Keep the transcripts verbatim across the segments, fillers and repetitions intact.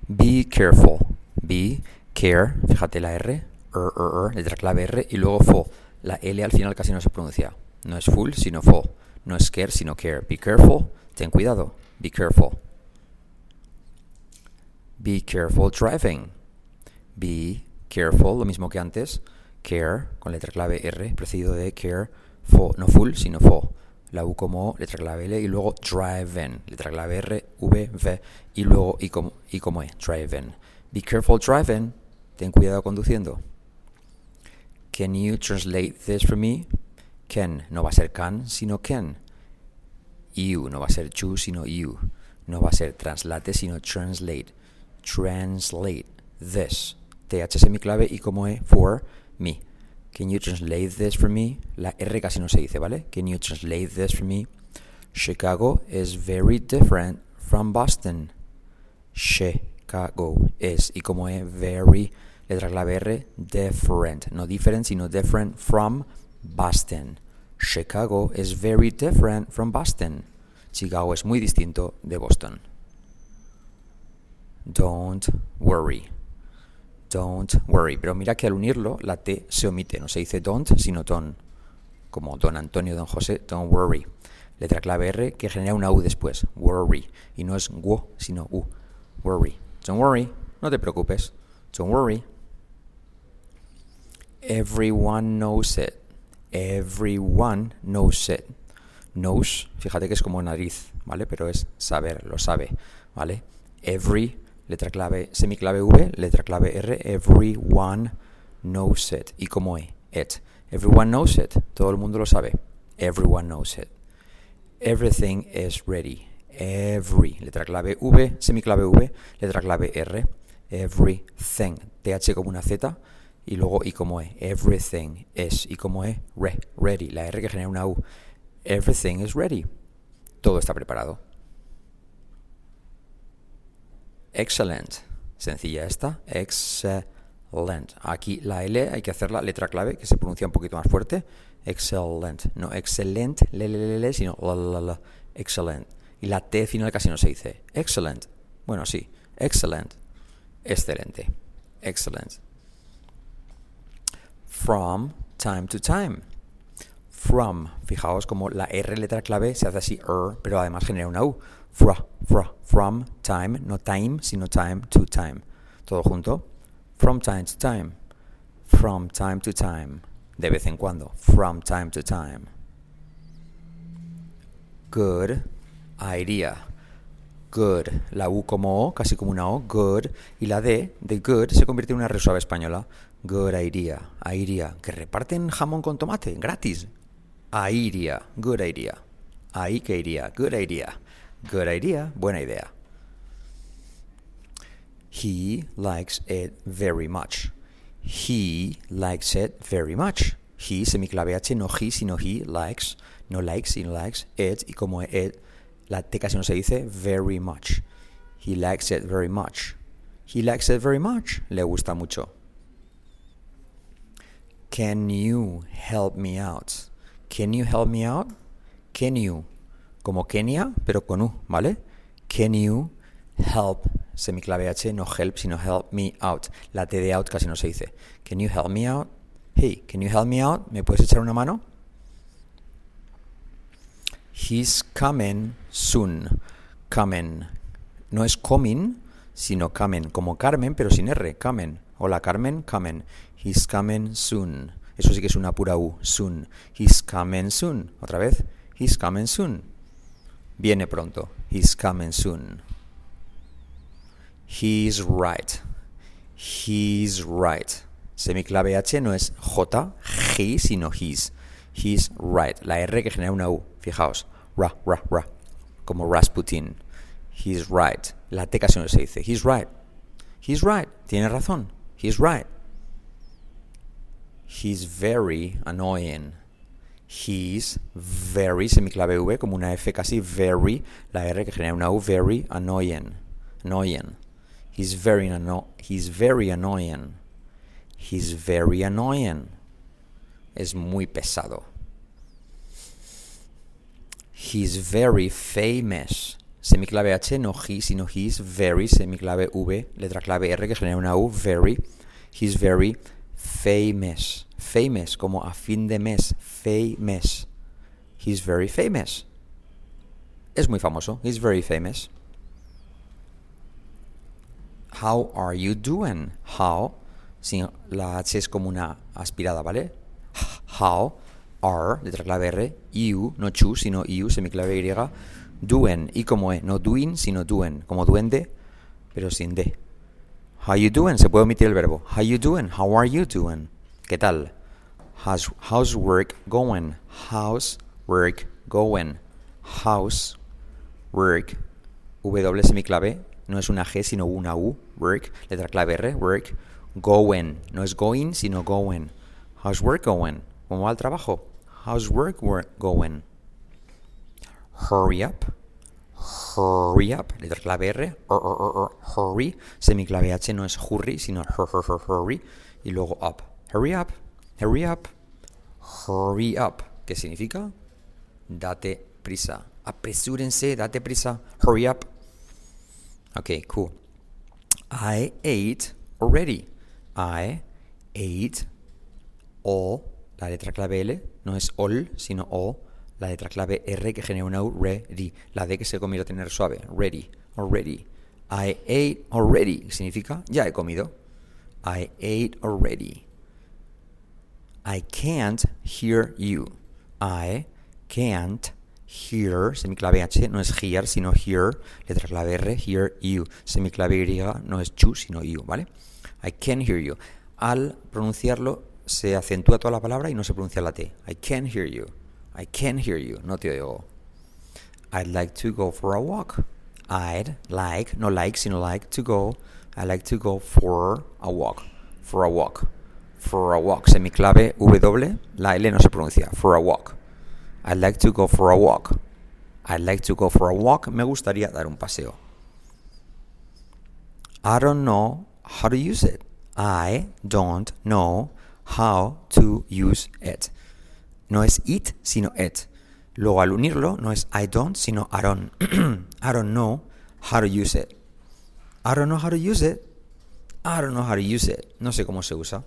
Be careful. Be, care, fíjate la R, er, er, er, letra clave R, y luego full. La L al final casi no se pronuncia. No es full, sino full. No es care, sino care. Be careful, ten cuidado. Be careful. Be careful driving. Be careful, lo mismo que antes. Care, con letra clave R, precedido de care, full. No full, sino full. La U como O, letra clave L, y luego driving, letra clave R, V, V, y luego I como, I como E, driving. Be careful driving, ten cuidado conduciendo. Can you translate this for me? Can, no va a ser can, sino can. You, no va a ser you, sino you. No va a ser translate, sino translate. Translate this. T H semiclave y como E, for me. Can you translate this for me? La R casi no se dice, ¿vale? Can you translate this for me? Chicago is very different from Boston. Chicago is, y como E, very, letra clave R, different. No different, sino different from Boston. Chicago is very different from Boston. Chicago es muy distinto de Boston. Don't worry. Don't worry. Pero mira que al unirlo, la T se omite. No se dice don't, sino ton. Como don Antonio, don José, don't worry. Letra clave R que genera una U después. Worry. Y no es wo, sino U. Worry. Don't worry. No te preocupes. Don't worry. Everyone knows it. Everyone knows it. Knows, fíjate que es como nariz, ¿vale? Pero es saber, lo sabe, ¿vale? Every, letra clave, semiclave V, letra clave R, everyone knows it. Y como E, it. Everyone knows it. Todo el mundo lo sabe. Everyone knows it. Everything is ready. Every, letra clave V, semiclave V, letra clave R, everything. T H como una Z y luego I como E. Everything is, y como E, re, ready. La R que genera una U. Everything is ready. Todo está preparado. Excellent. Sencilla esta. Excellent. Aquí la L hay que hacerla letra clave que se pronuncia un poquito más fuerte. Excellent. No excellent, le, le, le, le, sino la, la, la. Excellent. Y la T final casi no se dice. Excellent. Bueno, sí. Excellent. Excelente. Excellent. From time to time. From. Fijaos como la R letra clave se hace así, er, pero además genera una U. Fra, fra, from time, no time, sino time to time. Todo junto. From time to time. From time to time. De vez en cuando. From time to time. Good idea. Good. La U como O, casi como una O. Good. Y la D de good se convierte en una R suave española. Good idea. Idea. Que reparten jamón con tomate. Gratis. Idea. Good idea. Ahí que iría. Good idea. Good idea. Buena idea. He likes it very much. He likes it very much. He, semiclave H, no he, sino he likes. No likes, sino likes it. Y como it, la T casi no se dice, very much. He likes it very much. He likes it very much. Le gusta mucho. Can you help me out? Can you help me out? Can you, como Kenia, pero con U, ¿vale? Can you help, semiclave H, no help, sino help me out. La T de out casi no se dice. Can you help me out? Hey, can you help me out? ¿Me puedes echar una mano? He's coming soon. Coming. No es coming, sino coming. Como Carmen, pero sin R. Coming. Hola Carmen, coming. He's coming soon. Eso sí que es una pura U. Soon. He's coming soon. Otra vez. He's coming soon. Viene pronto. He's coming soon. He's right. He's right. Semiclave H no es J, he, sino his. He's right. La R que genera una U. Fijaos. Ra, ra, ra. Como Rasputin. He's right. La T casi no se dice. He's right. He's right. Tiene razón. He's right. He's very annoying. He's very, semiclave V, como una F casi, very. La R que genera una U, very annoying. Annoying. He's very, anno- he's very annoying. He's very annoying. Es muy pesado. He's very famous. semiclave H, no he, sino he's very, semiclave V, letra clave R que genera una U, very. He's very famous. Famous, como a fin de mes. Famous. He's very famous. Es muy famoso. He's very famous. How are you doing? How, si la H es como una aspirada, ¿vale? How are, letra clave R, you, no chu, sino you, semiclave Y, doing, y como E, no doing, sino doing, como duende, pero sin D. How you doing? Se puede omitir el verbo. How you doing? How are you doing? ¿Qué tal? How's, how's work going? How's work going? How's work, W semiclave, no es una G, sino una U, work, letra clave R, work, going, no es going, sino going. How's work going? ¿Cómo va el trabajo? How's work, work going? Hurry up, hurry up, letra clave R, or, or, or, or, hurry, semiclave H no es hurry, sino hur, hur, hur, hurry, y luego up. Hurry up, hurry up, hurry up. ¿Qué significa? Date prisa. Apresúrense, date prisa. Hurry up. Okay, cool. I ate already. I ate all, la letra clave L, no es all, sino all, la letra clave R que genera una U, ready. La D que se convierte en R suave, ready, already. I ate already, ¿qué significa? Ya he comido. I ate already. I can't hear you. I can't hear, semiclave H, no es hear, sino hear, letra clave R, hear you. Semiclave Y no es chu, sino you, ¿vale? I can't hear you. Al pronunciarlo se acentúa toda la palabra y no se pronuncia la T. I can't hear you. I can't hear you. No te oigo. I'd like to go for a walk. I'd like, no like, sino like to go. I'd like to go for a walk. For a walk. For a walk. Semiclave W, la L no se pronuncia. For a walk. I'd like to go for a walk. I'd like to go for a walk. Me gustaría dar un paseo. I don't know how to use it. I don't know how to use it. No es it, sino it. Luego al unirlo no es I don't, sino I don't. I don't know how to use it. I don't know how to use it. I don't know how to use it. No sé cómo se usa.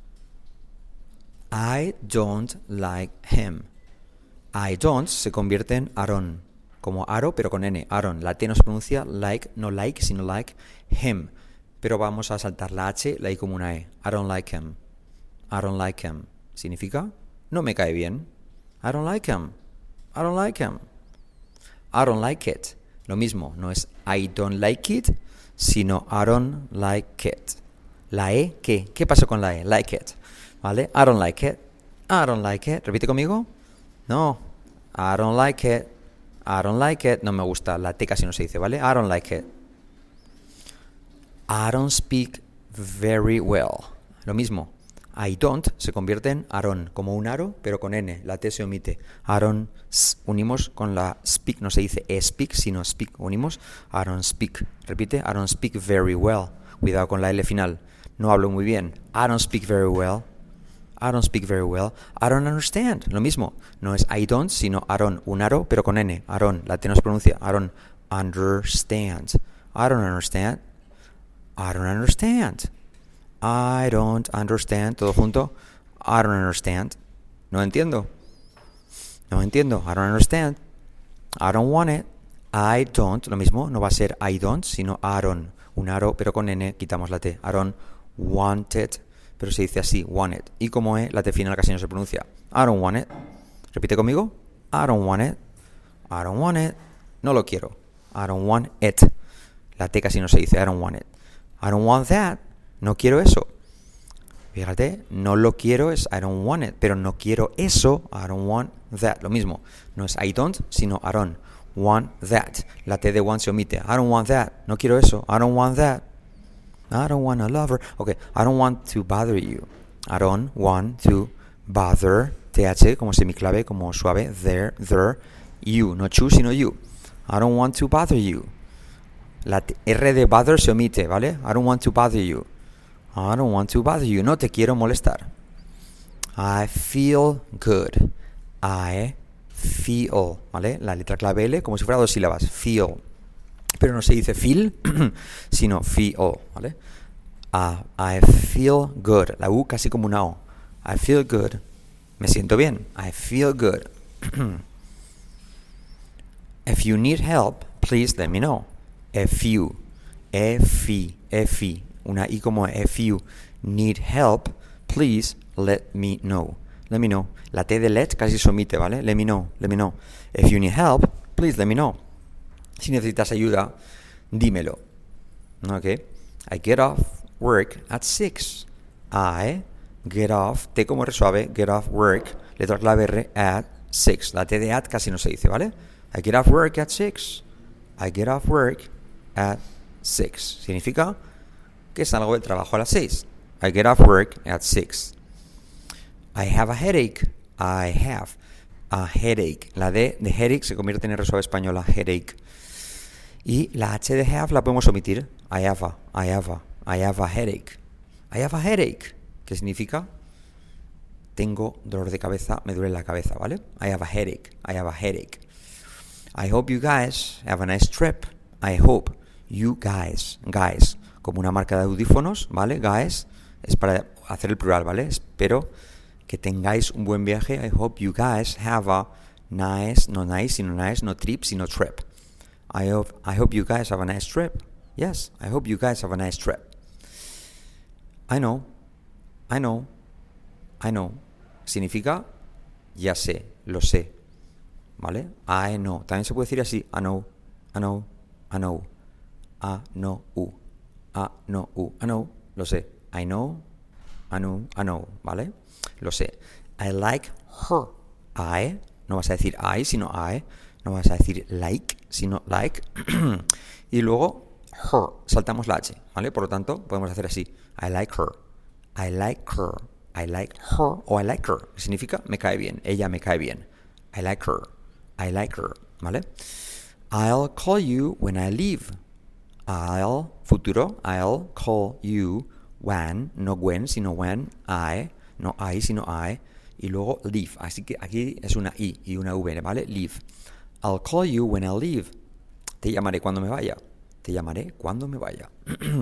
I don't like him. I don't se convierte en Aaron, como aro pero con N, Aaron. La T no se pronuncia like, no like, sino like him. Pero vamos a saltar la H, la I como una E. I don't like him. I don't like him. ¿Significa? No me cae bien. I don't like him. I don't like him. I don't like it. Lo mismo, no es I don't like it, sino I don't like it. La E, ¿qué? ¿Qué pasó con la E? Like it. ¿Vale? I don't like it. I don't like it. Repite conmigo. No. I don't like it. I don't like it. No me gusta. La T casi no se dice, ¿vale? I don't like it. I don't speak very well. Lo mismo. I don't se convierte en Aaron, como un aro, pero con N. La T se omite. Aaron unimos con la speak. No se dice e speak, sino speak. Unimos. I don't speak. Repite. I don't speak very well. Cuidado con la L final. No hablo muy bien. I don't speak very well. I don't speak very well. I don't understand. Lo mismo. No es I don't, sino Aaron. Un aro, pero con N. Aaron. La T no se pronuncia. I don't understand. I don't understand. I don't understand. I don't understand. Todo junto. I don't understand. No entiendo. No entiendo. I don't understand. I don't want it. I don't. Lo mismo. No va a ser I don't, sino Aaron. Un aro, pero con N. Quitamos la T. I don't want it. Pero se dice así, want it. Y como E, la T final casi no se pronuncia. I don't want it. Repite conmigo. I don't want it. I don't want it. No lo quiero. I don't want it. La T casi no se dice. I don't want it. I don't want that. No quiero eso. Fíjate, no lo quiero es I don't want it. Pero no quiero eso. I don't want that. Lo mismo. No es I don't, sino I don't want that. La T de want se omite. I don't want that. No quiero eso. I don't want that. I don't want a lover. Okay, I don't want to bother you. I don't want to bother. T H como semiclave, como suave. There, there. You, no chu, sino you. I don't want to bother you. La R de bother se omite, ¿vale? I don't want to bother you. I don't want to bother you. No te quiero molestar. I feel good. I feel, ¿vale? La letra clave L como si fuera dos sílabas. Feel. pero no se dice feel, sino feel, ¿vale? Uh, I feel good. La U casi como una O. I feel good. Me siento bien. I feel good. If you need help, please let me know. If you, if you, if you, una I como if you need help, please let me know. Let me know. La T de let casi se omite, ¿vale? Let me know, let me know. If you need help, please let me know. Si necesitas ayuda, dímelo. Okay? I get off work at six. I get off, T como R suave, get off work, letra clave R, at six. La T de at casi no se dice, ¿vale? I get off work at six. I get off work at six. Significa que salgo del trabajo a las seis. I get off work at six. I have a headache. I have a headache. La D de headache se convierte en R suave española, headache. Y la H de have la podemos omitir. I have a, I have a, I have a headache. I have a headache. ¿Qué significa? Tengo dolor de cabeza, me duele la cabeza, ¿vale? I have a headache. I have a headache. I hope you guys have a nice trip. I hope you guys, guys, como una marca de audífonos, ¿vale? Guys, es para hacer el plural, ¿vale? Espero que tengáis un buen viaje. I hope you guys have a nice, no nice, sino nice, no trip, sino trip. I hope, I hope you guys have a nice trip. Yes, I hope you guys have a nice trip. I know, I know, I know. Significa, ya sé, lo sé. ¿Vale? I know. También se puede decir así, I know, I know, I know. I know, u. I know, u. I know, lo sé. I know, I know, I know. ¿Vale? Lo sé. I like her. I, no vas a decir I, sino I. No vas a decir like, sino like. Y luego, her. Saltamos la H, ¿vale? Por lo tanto, podemos hacer así. I like her. I like her. I like her. O I like her. Significa, me cae bien. Ella me cae bien. I like her. I like her. ¿Vale? I'll call you when I leave. I'll, futuro, I'll call you when, no when, sino when, I, no I, sino I, y luego leave. Así que aquí es una I y una V, ¿vale? Leave. I'll call you when I leave. Te llamaré cuando me vaya. Te llamaré cuando me vaya.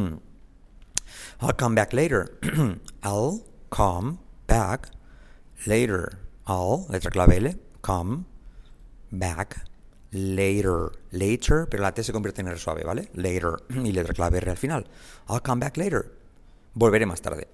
I'll come back later. I'll come back later. I'll, letra clave L, come back later. Later, pero la T se convierte en R suave, ¿vale? Later. Y letra clave R al final. I'll come back later. Volveré más tarde.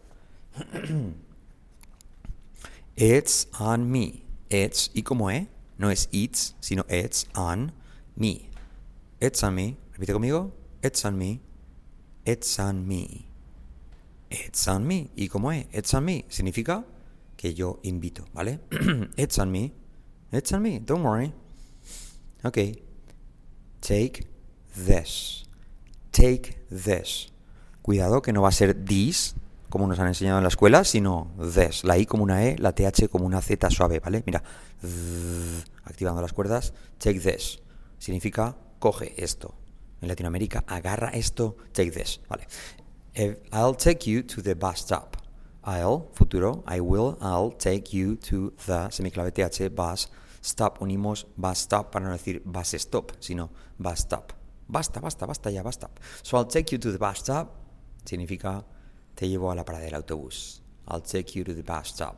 It's on me. It's, y como E, no es it's, sino it's on me. It's on me. Repite conmigo. It's on me. It's on me. It's on me. Y como E, it's on me. Significa que yo invito, ¿vale? It's on me. It's on me. Don't worry. Okay. Take this. Take this. Cuidado que no va a ser this, como nos han enseñado en la escuela, sino this. La I como una E, la T H como una Z suave, ¿vale? Mira. Activando las cuerdas. Take this. Significa coge esto. En Latinoamérica, agarra esto. Take this. Vale. I'll take you to the bus stop. I'll, futuro, I will, I'll take you to the, semiclave T H, bus stop. Unimos bus stop para no decir bus stop, sino bus stop. Basta, basta, basta ya, basta. So I'll take you to the bus stop. Significa te llevo a la parada del autobús. I'll take you to the bus stop.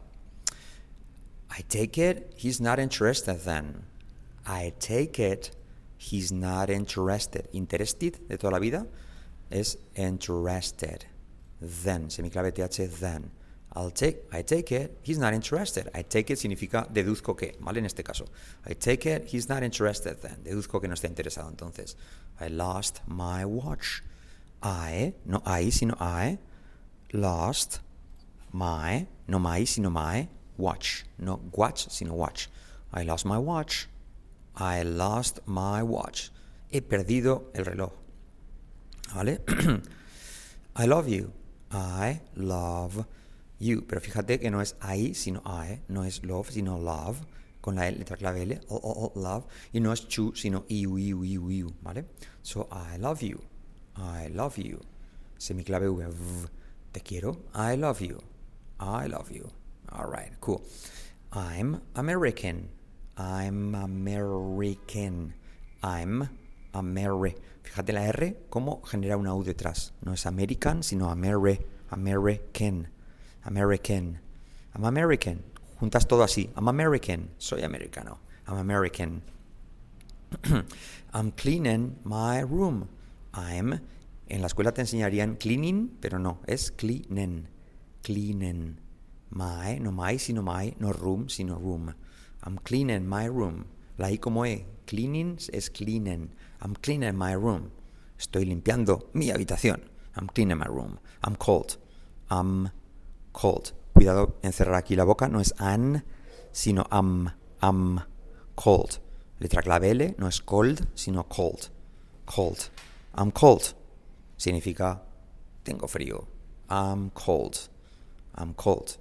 I take it, he's not interested then. I take it, he's not interested. Interested, de toda la vida, es interested. Then, semiclave T H, then. I'll take, I take it, he's not interested. I take it significa deduzco que, ¿vale? En este caso. I take it, he's not interested then. Deduzco que no está interesado entonces. I lost my watch. I, no I, sino I, lost my, no my, sino my, watch. No watch, sino watch. I lost my watch. I lost my watch. He perdido el reloj. ¿Vale? I love you. I love you. Pero fíjate que no es I, sino I. No es love, sino love. Con la letra clave L. O, o, o, love. Y no es chu, sino iu, iu, iu, iu. ¿Vale? So, I love you. I love you. Semiclave V. V. Te quiero. I love you. I love you. All right, cool. I'm American. I'm American. I'm Ameri. Fíjate la R, cómo genera una U detrás. No es American, sino Ameri, American, American. I'm American. Juntas todo así. I'm American. Soy americano. I'm American. I'm cleaning my room. I'm. En la escuela te enseñarían cleaning, pero no, es cleanen. Cleanen. My, no my, sino my, no room, sino room. I'm cleaning my room. La I como E. Cleaning es cleanen. I'm cleaning my room. Estoy limpiando mi habitación. I'm cleaning my room. I'm cold. I'm cold. Cuidado en cerrar aquí la boca. No es an, sino am. I'm cold. Letra clave L. No es cold, sino cold. Cold. I'm cold. Significa tengo frío. I'm cold. I'm cold.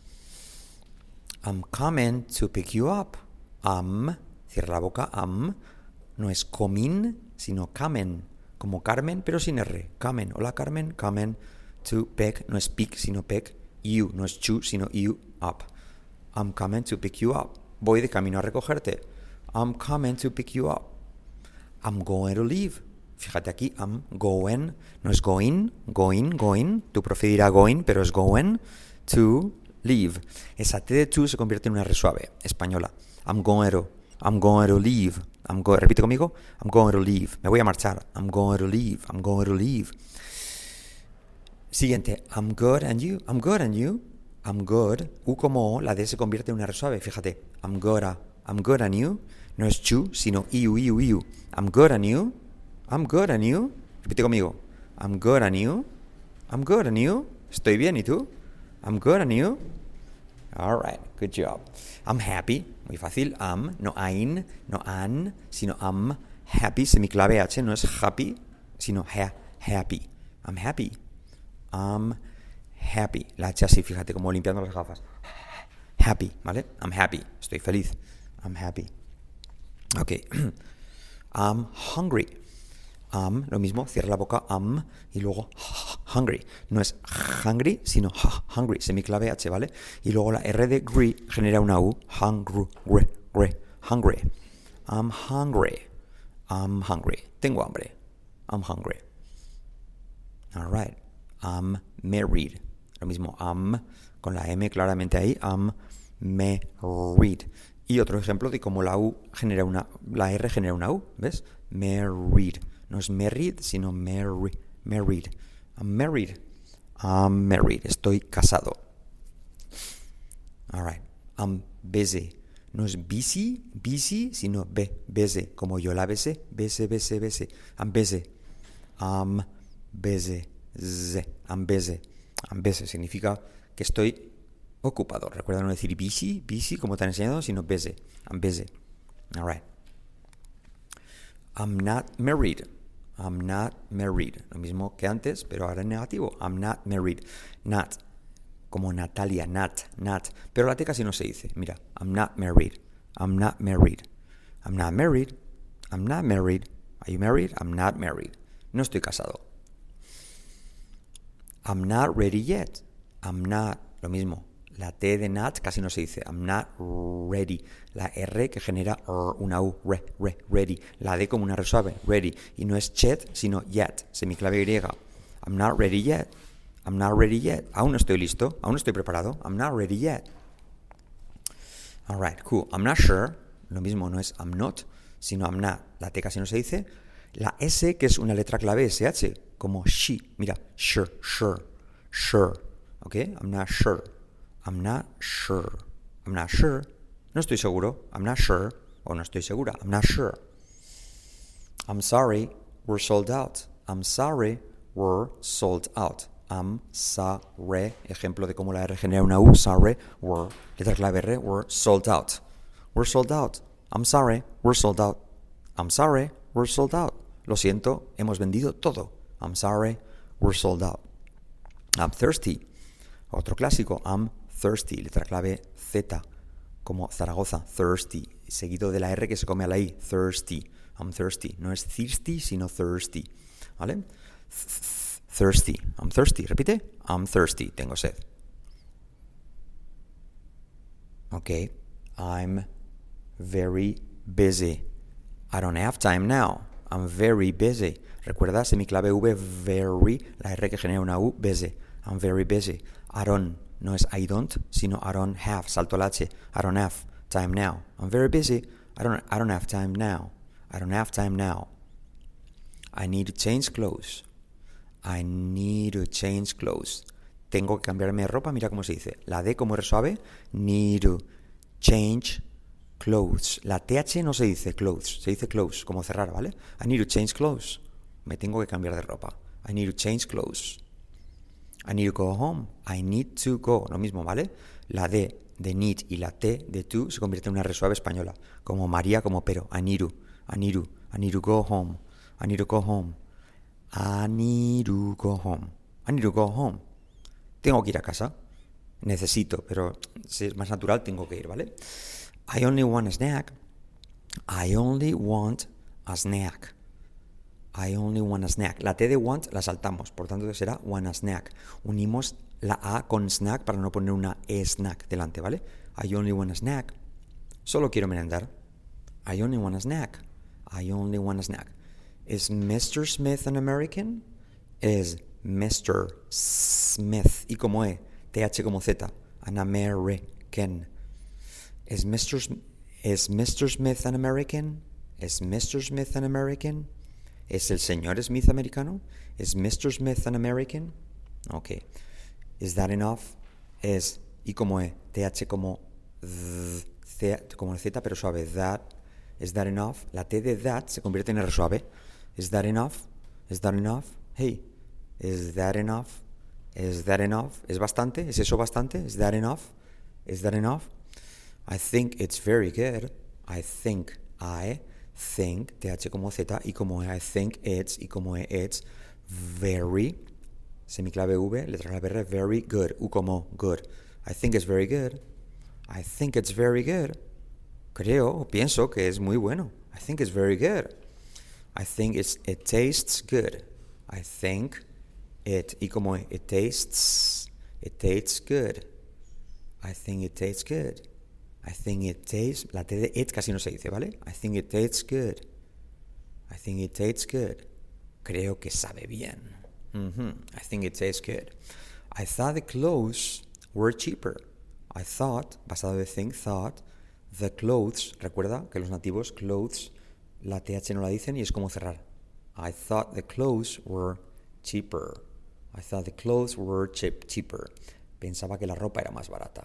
I'm coming to pick you up. I'm, cierra la boca, am, no es coming, sino coming, como Carmen, pero sin R. Coming, hola Carmen, coming to pick, no es pick, sino pick, you, no es to, sino you, up. I'm coming to pick you up. Voy de camino a recogerte. I'm coming to pick you up. I'm going to leave. Fíjate aquí, I'm going, no es going, going, going. Tu profe dirá going, pero es going to leave. Esa T de to se convierte en una R suave, española. I'm going to, I'm going to leave. I'm go, repite conmigo, I'm going to leave. Me voy a marchar. I'm going to leave. I'm going to leave. Siguiente, I'm good and you. I'm good and you. I'm good. U como O, la D se convierte en una R suave. Fíjate, I'm good, a, I'm good and you. No es you, sino iu, iu, iu. I'm good and you. I'm good and you. Repite conmigo. I'm good and you. I'm good and you. Estoy bien, ¿y tú? I'm good and you. All right, good job. I'm happy. Muy fácil. I'm, no ein, no an, sino I'm happy. Semiclave H, no es happy, sino ha, happy. I'm happy. I'm happy. La H así, fíjate, como limpiando las gafas. Happy, ¿vale? I'm happy. Estoy feliz. I'm happy. Ok. I'm hungry. Am, lo mismo, cierra la boca, am, y luego hungry. No es hungry, sino hungry, semiclave H, ¿vale? Y luego la R de gri genera una U, hungry, gre, hungry. I'm hungry. I'm hungry. Tengo hambre. I'm hungry. All right. I'm married. Lo mismo, am, con la M claramente ahí, I'm married. Y otro ejemplo de cómo la U genera una, la R genera una U, ¿ves? Married. No es married, sino marry, married. I'm married. I'm married. Estoy casado. All right. I'm busy. No es busy, busy, sino be, busy. Como yo la besé, besé, besé, besé. I'm busy. I'm busy. Z. I'm busy. I'm busy. Significa que estoy ocupado. Recuerda no decir busy, busy, como te han enseñado, sino busy. I'm busy. All right. I'm not married. I'm not married. Lo mismo que antes, pero ahora en negativo. I'm not married. Not. Como Natalia. Not. Not. Pero la T casi no se dice. Mira. I'm not married. I'm not married. I'm not married. I'm not married. Are you married? I'm not married. No estoy casado. I'm not ready yet. I'm not. Lo mismo. La T de not casi no se dice. I'm not ready. La R que genera una U. Re, re, ready. La D como una R suave. Ready. Y no es chet, sino yet. Semiclave Y. I'm not ready yet. I'm not ready yet. Aún no estoy listo. Aún no estoy preparado. I'm not ready yet. All right, cool. I'm not sure. Lo mismo no es I'm not, sino I'm not. La T casi no se dice. La S, que es una letra clave S H, como she. Mira, sure, sure, sure. ¿Ok? I'm not sure. I'm not sure. I'm not sure. No estoy seguro. I'm not sure. O no estoy segura. I'm not sure. I'm sorry. We're sold out. I'm sorry. We're sold out. I'm sorry. Ejemplo de cómo la R genera una U. Sorry. We're. Letra clave R. We're sold out. We're sold out. I'm sorry. We're sold out. I'm sorry. We're sold out. Lo siento. Hemos vendido todo. I'm sorry. We're sold out. I'm thirsty. Otro clásico. I'm thirsty, letra clave Z, como Zaragoza, thirsty, seguido de la R que se come a la I, thirsty, I'm thirsty, no es thirsty, sino thirsty, ¿vale? Thirsty, I'm thirsty, repite, I'm thirsty, tengo sed. Ok, I'm very busy, I don't have time now, I'm very busy. Recuerda, semiclave V, very, la R que genera una U, busy. I'm very busy. I don't, no es I don't, sino I don't have, salto el H. I don't have time now. I'm very busy. I don't, I don't have time now. I don't have time now. I need to change clothes. I need to change clothes. Tengo que cambiarme de ropa, mira cómo se dice. La D como R suave, need to change clothes. La T H no se dice clothes, se dice clothes, como cerrar, ¿vale? I need to change clothes. Me tengo que cambiar de ropa. I need to change clothes. I need to go home. I need to go. Lo mismo, ¿vale? La D de need y la T de to se convierte en una R suave española. Como María, como pero. I need to. I need to. I need to go home. I need to go home. I need to go home. I need to go home. Tengo que ir a casa. Necesito, pero si es más natural, tengo que ir, ¿vale? I only want a snack. I only want a snack. I only want a snack. La T de want la saltamos, por tanto será want a snack. Unimos la A con snack para no poner una E snack delante, ¿vale? I only want a snack. Solo quiero merendar. I only want a snack. I only want a snack. Is mister Smith an American? Is mister Smith, y como E, T H como Z, an American. Is mister Sm- is mister Smith an American? Is mister Smith an American? ¿Es el señor Smith americano? Is mister Smith an American? Ok. Is that enough? Es I como E, T H como Z, Z, como Z pero suave. That. Is that enough? La T de that se convierte en R suave. Is that enough? Is that enough? Hey, is that enough? Is that enough? ¿Es bastante? ¿Es eso bastante? Is that enough? Is that enough? I think it's very good. I think, I think, T H como Z, y como E, I think it's, y como E, it's, very, semiclave V, letra clave R, very good, U como good. I think it's very good. I think it's very good. Creo, o pienso que es muy bueno. I think it's very good. I think it's, it tastes good. I think it, y como E, it tastes, it tastes good. I think it tastes good. I think it tastes, la T de it casi no se dice, ¿vale? I think it tastes good. I think it tastes good. Creo que sabe bien. Mm-hmm. I think it tastes good. I thought the clothes were cheaper. I thought, basado de think, thought, the clothes, recuerda que los nativos, clothes, la T H no la dicen y es como cerrar. I thought the clothes were cheaper. I thought the clothes were cheap, cheaper. Pensaba que la ropa era más barata.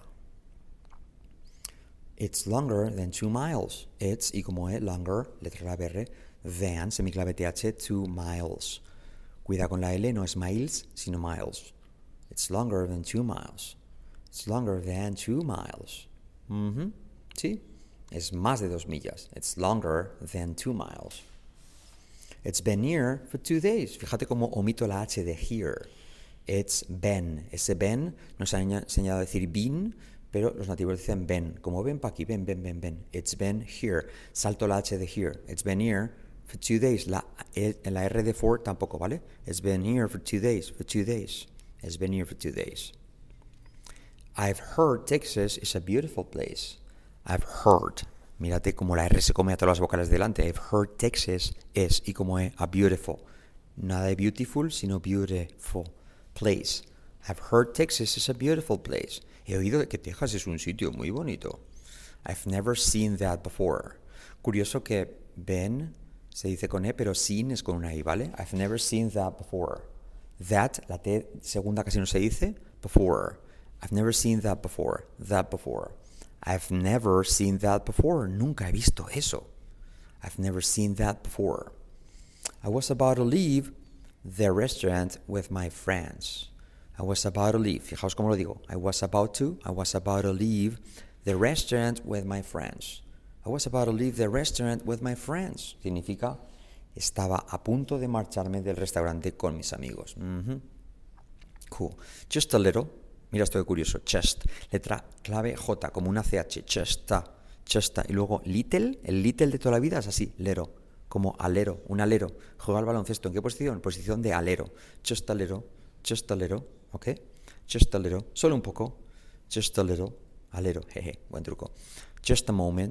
It's longer than two miles. It's, y como es, longer, letra clave R, than, semiclave T H, two miles. Cuida con la L, no es miles, sino miles. It's longer than two miles. It's longer than two miles. Mm-hmm. ¿Sí? Es más de dos millas. It's longer than two miles. It's been here for two days. Fíjate cómo omito la H de here. It's been. Ese been nos ha enseñado a decir been, pero los nativos dicen ven. Como ven para aquí, ven, ven, ven, ven. It's been here. Salto la H de here. It's been here for two days. La, la R de for tampoco, ¿vale? It's been here for two days. For two days. It's been here for two days. I've heard Texas is a beautiful place. I've heard. Mírate como la R se come a todas las vocales delante. I've heard Texas is, y como es, a beautiful. Nada de beautiful, sino beautiful place. I've heard Texas is a beautiful place. He oído que Texas es un sitio muy bonito. I've never seen that before. Curioso que been se dice con E, pero seen es con una I, ¿vale? I've never seen that before. That, la T segunda casi no se dice, before. I've never seen that before. That before. I've never seen that before. Nunca he visto eso. I've never seen that before. I was about to leave the restaurant with my friends. I was about to leave. Fijaos cómo lo digo. I was about to. I was about to leave the restaurant with my friends. I was about to leave the restaurant with my friends. Significa, estaba a punto de marcharme del restaurante con mis amigos. Mm-hmm. Cool. Just a little. Mira esto de curioso. Just. Letra clave J, como una C H. Just. Just. Y luego little. El little de toda la vida es así. Lero. Como alero. Un alero. Juega al baloncesto. ¿En qué posición? Posición de alero. Just a little. Just a little. ¿Ok? Just a little. Solo un poco. Just a little. Alero. Jeje. Buen truco. Just a moment.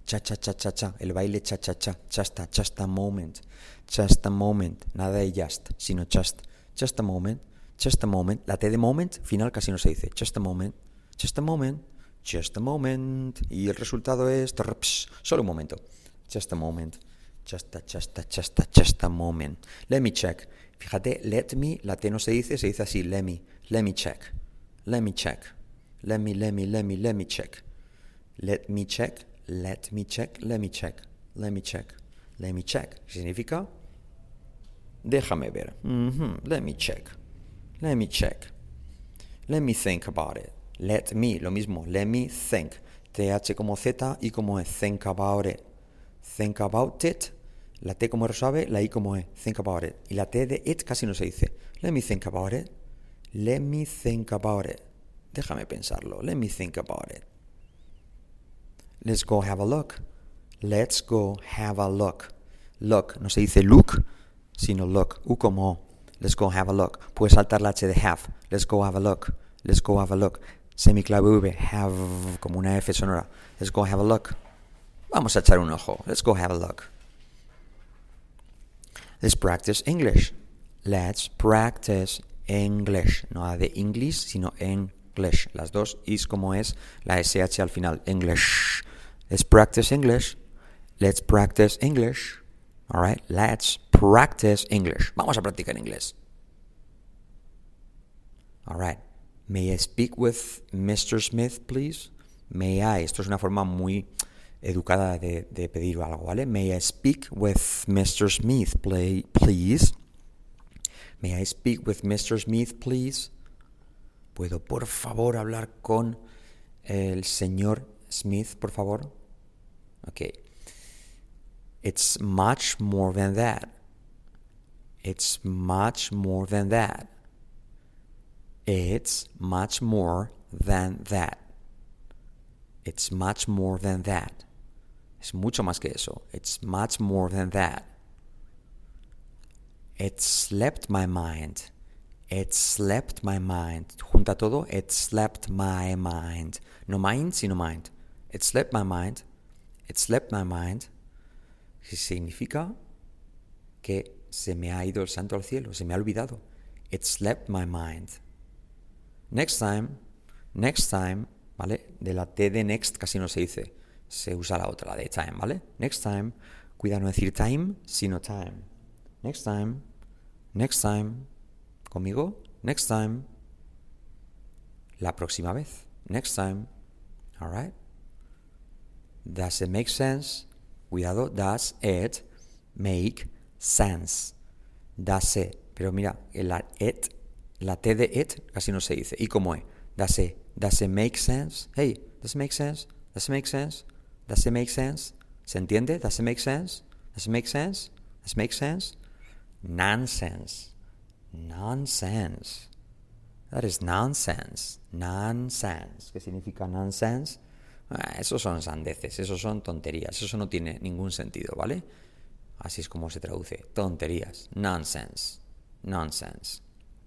cha, cha, cha, cha, cha, el baile cha, cha, cha, just a, just a moment, just a moment, nada de just, sino just, just a moment, just a moment, la T de moment, final casi no se dice, just a moment, just a moment, just a moment, y el resultado es, trps, solo un momento, just a moment, just a, just a, just a, just a moment, let me check, fíjate, let me, la T no se dice, se dice así, let me, let me check, let me check, let me, let me, let me, let me check, let me check, let me check, let me check, let me check, let me check, significa, déjame ver, mm-hmm. Let me check, let me check, let me think about it, let me, lo mismo, let me think, th como z, y como e, think about it, think about it, la t como R suave, la i como e, think about it, y la t de it casi no se dice, let me think about it, let me think about it, déjame pensarlo, let me think about it. Let's go have a look. Let's go have a look. Look, no se dice look, sino look. U como O. Let's go have a look. Puedes saltar la H de have. Let's go have a look. Let's go have a look. Semiclave V, have, como una F sonora. Let's go have a look. Vamos a echar un ojo. Let's go have a look. Let's practice English. Let's practice English. No la de English, sino English. Las dos is como es la S H al final. English. Let's practice English. Let's practice English. All right. Let's practice English. Vamos a practicar inglés. All right. May I speak with mister Smith, please? May I. Esto es una forma muy educada de, de pedir algo, ¿vale? May I speak with mister Smith, play, please? May I speak with mister Smith, please? ¿Puedo, por favor, hablar con el señor Smith, por favor? Okay. It's much more than that. It's much more than that. It's much more than that. It's much more than that. Es mucho más que eso. It's much more than that. It slept my mind. It slept my mind. Junta todo. It slept my mind. No mind, sino mind. It slept my mind. It slept my mind. Significa que se me ha ido el santo al cielo. Se me ha olvidado. It slept my mind. Next time. Next time. ¿Vale? De la T de next casi no se dice. Se usa la otra, la de time, ¿vale? Next time. Cuida no decir time, sino time. Next time. Next time. ¿Conmigo? Next time. La próxima vez. Next time. All right? Does it make sense? Cuidado. Does it make sense? Does it. Pero mira, la it, la T de it casi no se dice. ¿Y cómo es? Does it. Does it make sense? Hey, does it make sense? Does it make sense? Does it make sense? ¿Se entiende? Does it make sense? Does it make sense? Does it make sense? Nonsense. Nonsense. That is nonsense. Nonsense. ¿Qué significa nonsense? Ah, esos son sandeces, esos son tonterías, eso no tiene ningún sentido, ¿vale? Así es como se traduce. Tonterías. Nonsense. Nonsense.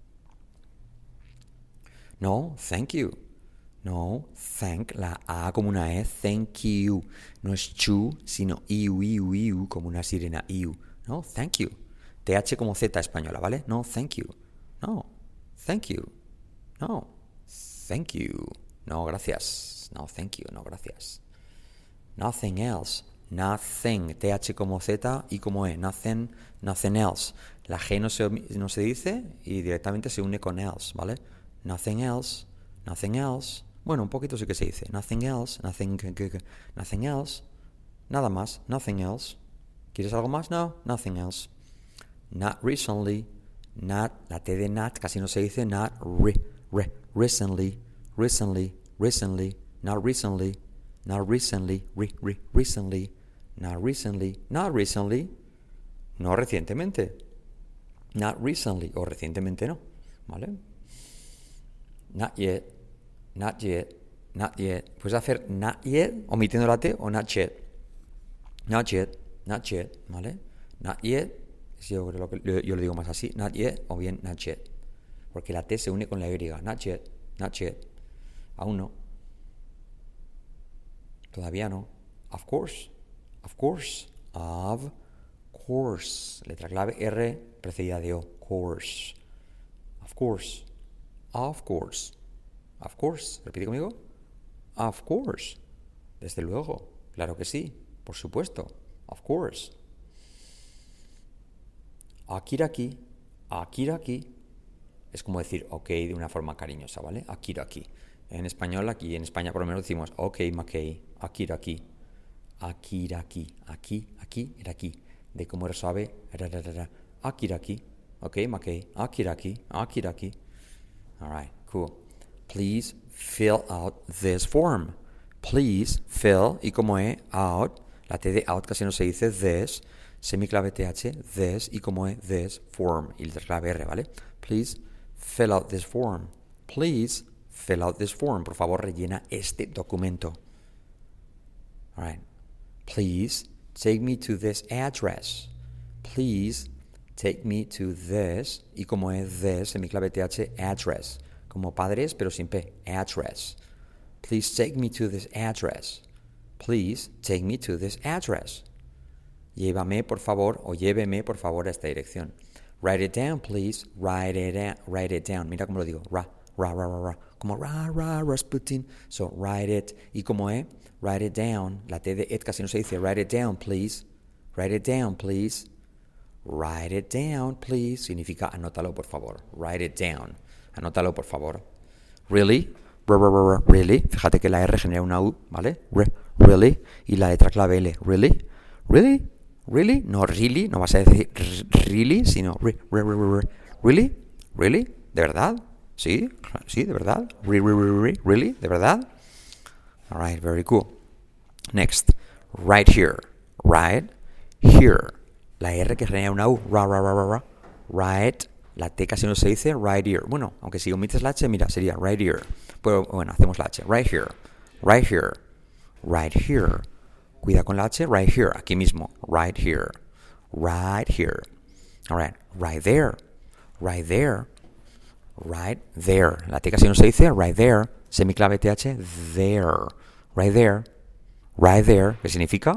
No, thank you. No, thank, la A como una E, thank you. No es chu, sino iu, iu, iu, como una sirena, iu. No, thank you. T H como Z española, ¿vale? No, thank you. No, thank you. No, thank you. No, gracias. No, thank you. No, gracias. Nothing else. Nothing. T H como Z y como E. Nothing, nothing else. La G no se, no se dice y directamente se une con else, ¿vale? Nothing else. Nothing else. Bueno, un poquito sí que se dice. Nothing else. Nothing, nothing else. Nada más. Nothing else. ¿Quieres algo más? No. Nothing else. Not recently. Not. La T de not casi no se dice. Not re, re, recently. Recently. Recently. Not recently. Not recently. Re, re, recently. Not recently. Not recently. No recientemente. Not recently. O recientemente no. ¿Vale? Not yet. Not yet. Not yet. Puedes hacer not yet omitiendo la T o not yet. Not yet. Not yet. ¿Vale? Not yet. Yo, creo que, yo, yo lo digo más así. Not yet o bien not yet. Porque la T se une con la Y. Not yet. Not yet. Aún no. Todavía no. Of course. Of course. Of course. Letra clave R precedida de O. Course. Of course. Of course. Of course. Repite conmigo. Of course. Desde luego. Claro que sí. Por supuesto. Of course. Akiraki. Akiraki. Es como decir ok de una forma cariñosa, ¿vale? Akiraki. En español, aquí en España por lo menos decimos ok, Makei. Akiraki. Akiraki. Aquí, aquí, era aquí. De cómo era suave. Akiraki. Ok, Makei. Akiraki. Akiraki. Alright, cool. Please fill out this form. Please fill, y como es, out, la T de out casi no se dice this, semiclave T H, this, y como es, this form, y la clave R, ¿vale? Please fill out this form. Please fill out this form. Por favor, rellena este documento. Alright. Please take me to this address. Please take me to this, y como es this, semiclave T H, address. Como padres, pero sin P, address. Please take me to this address. Please take me to this address. Llévame, por favor, o lléveme, por favor, a esta dirección. Write it down, please. Write it down. Write it down. Mira cómo lo digo. Ra, ra, ra, ra, ra. Como ra, ra, Rasputin. So, write it. Y como es, write it down. La T de it casi no se dice. Write it down, please. Write it down, please. Write it down, please. Significa anótalo, por favor. Write it down. Anótalo, por favor. Really? Really? Fíjate que la R genera una U, ¿vale? Really? Y la letra clave L. Really? Really? Really? No really, no vas a decir really, sino re, re, re, re. Really? Really? ¿De verdad? ¿Sí? ¿Sí? ¿De verdad? Re, re, re, re. Really? ¿De verdad? Alright, very cool. Next. Right here. Right here. La R que genera una U. Ra, ra, ra, ra, ra. Right. La T casi no se dice right here. Bueno, aunque si omites la H, mira, sería right here. Pero bueno, hacemos la H. Right here. Right here. Right here. Cuida con la H. Right here. Aquí mismo. Right here. Right here. Alright. Right there. Right there. Right there. La T casi no se dice right there. Semiclave T H. There. Right there. Right there. ¿Qué significa?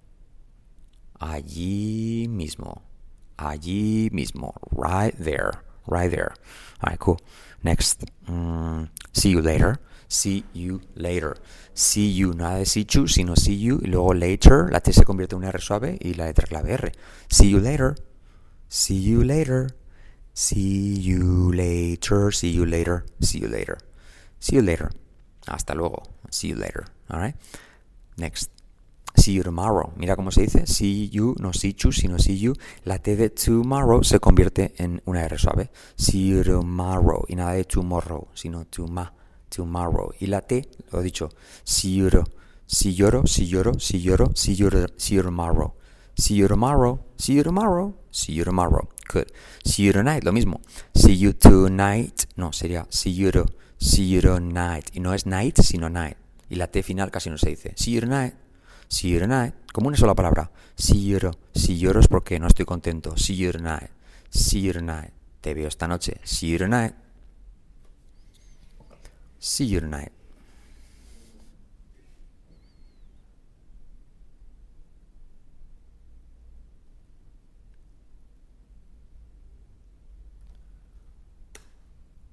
Allí mismo. Allí mismo. Right there. Right there. Alright, cool. Next. Mm, see you later. See you later. See you. Nada de see you, sino see you. Y luego later. La T se convierte en una R suave y la letra clave R. See you later. See you later. See you later. See you later. See you later. See you later. Hasta luego. See you later. Alright. Next. See you tomorrow. Mira cómo se dice. See you, no see you, sino see you. La T de tomorrow se convierte en una R suave. See you tomorrow. Y nada de tomorrow, sino toma, tomorrow. Y la T, lo he dicho. See you, see you, see you, see you, see you, see you tomorrow. See you tomorrow. See you tomorrow. See you tomorrow. Good. See you tonight. Lo mismo. See you tonight. No, sería see you, see you tonight. Y no es night, sino night. Y la T final casi no se dice. See you tonight. See you tonight, como una sola palabra. Si lloro, si lloro es porque no estoy contento. See you tonight, see you tonight. Te veo esta noche. See you tonight. See you tonight.